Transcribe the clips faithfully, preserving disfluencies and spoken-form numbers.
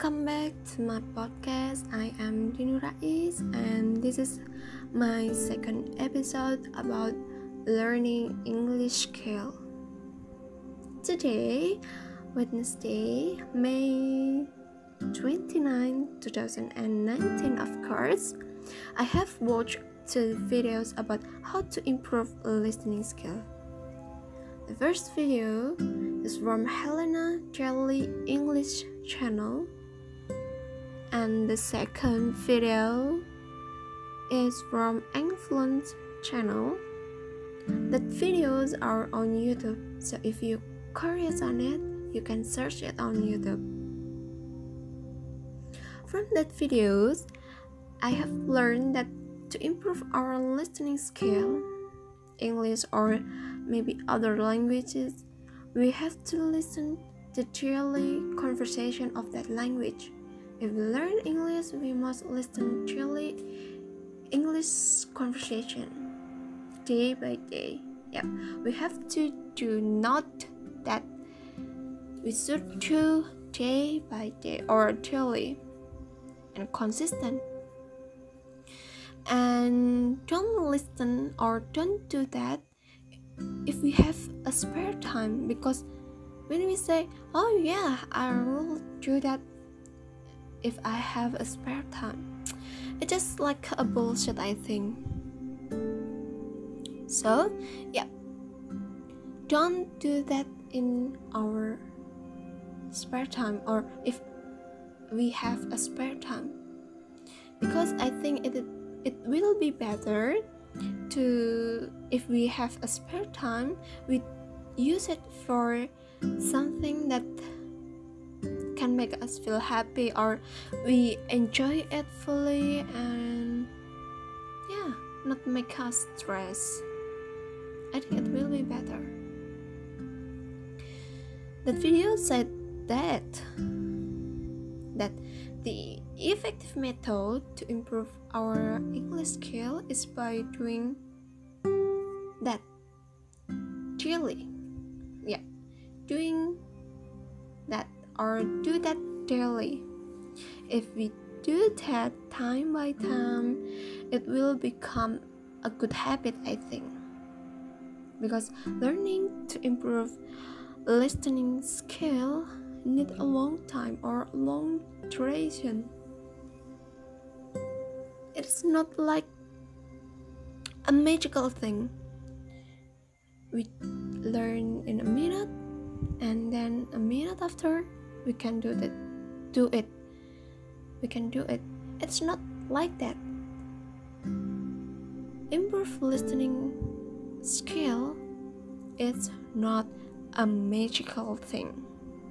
Welcome back to my podcast. I am Dinu Rais, and this is my second episode about learning English skill. Today, Wednesday, May twenty-ninth, twenty nineteen, of course, I have watched two videos about how to improve listening skill. The first video is from Helena Charlie English channel, and the second video is from Influence channel. The videos are on YouTube, so if you're curious on it, you can search it on YouTube. From that videos, I have learned that to improve our listening skill, English or maybe other languages, we have to listen the daily conversation of that language. If we learn English, we must listen daily English conversation day by day. Yeah, we have to do not that we should do day by day or daily and consistent. And don't listen or don't do that if we have a spare time, because when we say, oh yeah, I will do that if I have a spare time, it's just like a bullshit, I think. So yeah, don't do that in our spare time, or if we have a spare time, because I think it it will be better to, if we have a spare time, we use it for something that can make us feel happy, or we enjoy it fully, and yeah, not make us stress. I think it will be better. That video said that that the effective method to improve our English skill is by doing that daily. Yeah, doing that or do that daily. If we do that time by time, it will become a good habit, I think. Because learning to improve listening skill need a long time or long duration. It's not like a magical thing. We learn in a minute, and then a minute after we can do that. Do it. We can do it. It's not like that. Improve listening skill is not a magical thing.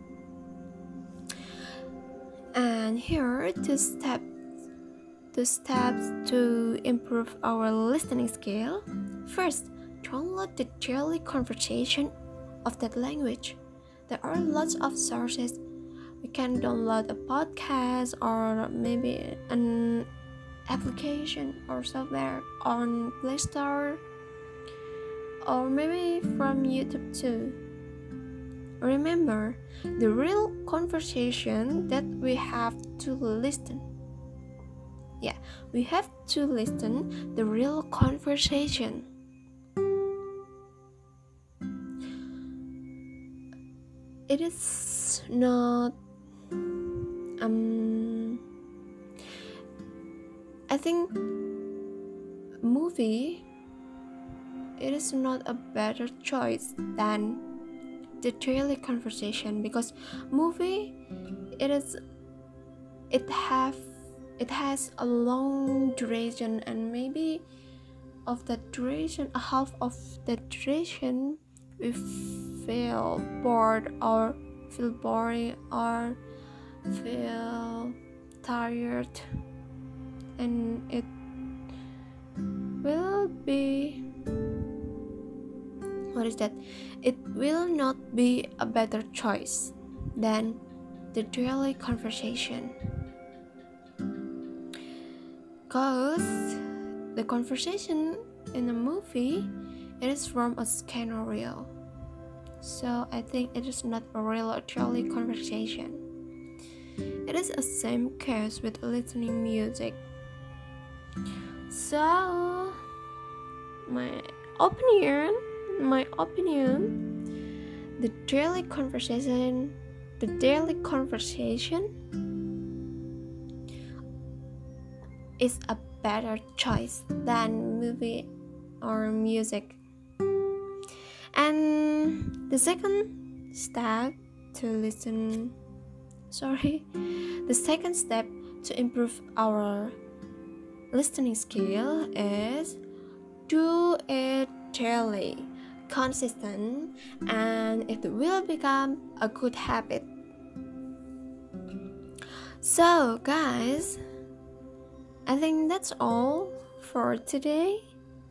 And here are two steps two steps to improve our listening skill. First, download the daily conversation of that language. There are lots of sources. We can download a podcast or maybe an application or software on Play Store, or maybe from YouTube too. Remember, the real conversation that we have to listen. Yeah, we have to listen the real conversation. It is not um I think movie, it is not a better choice than the daily conversation, because movie, it is it have it has a long duration, and maybe of the duration, a half of the duration, we feel bored or feel boring or feel tired, and it will be what is that it will not be a better choice than the daily conversation, because the conversation in a movie, it is from a scenario, so I think it is not a real or truly conversation. It is the same case with listening music. So, my opinion, my opinion, the daily conversation, the daily conversation is a better choice than movie or music. And the second step to listen, sorry, the second step to improve our listening skill is do it daily, consistent, and it will become a good habit. So guys, I think that's all for today.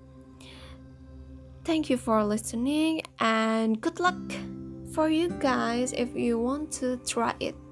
Thank you for listening and good luck for you guys if you want to try it.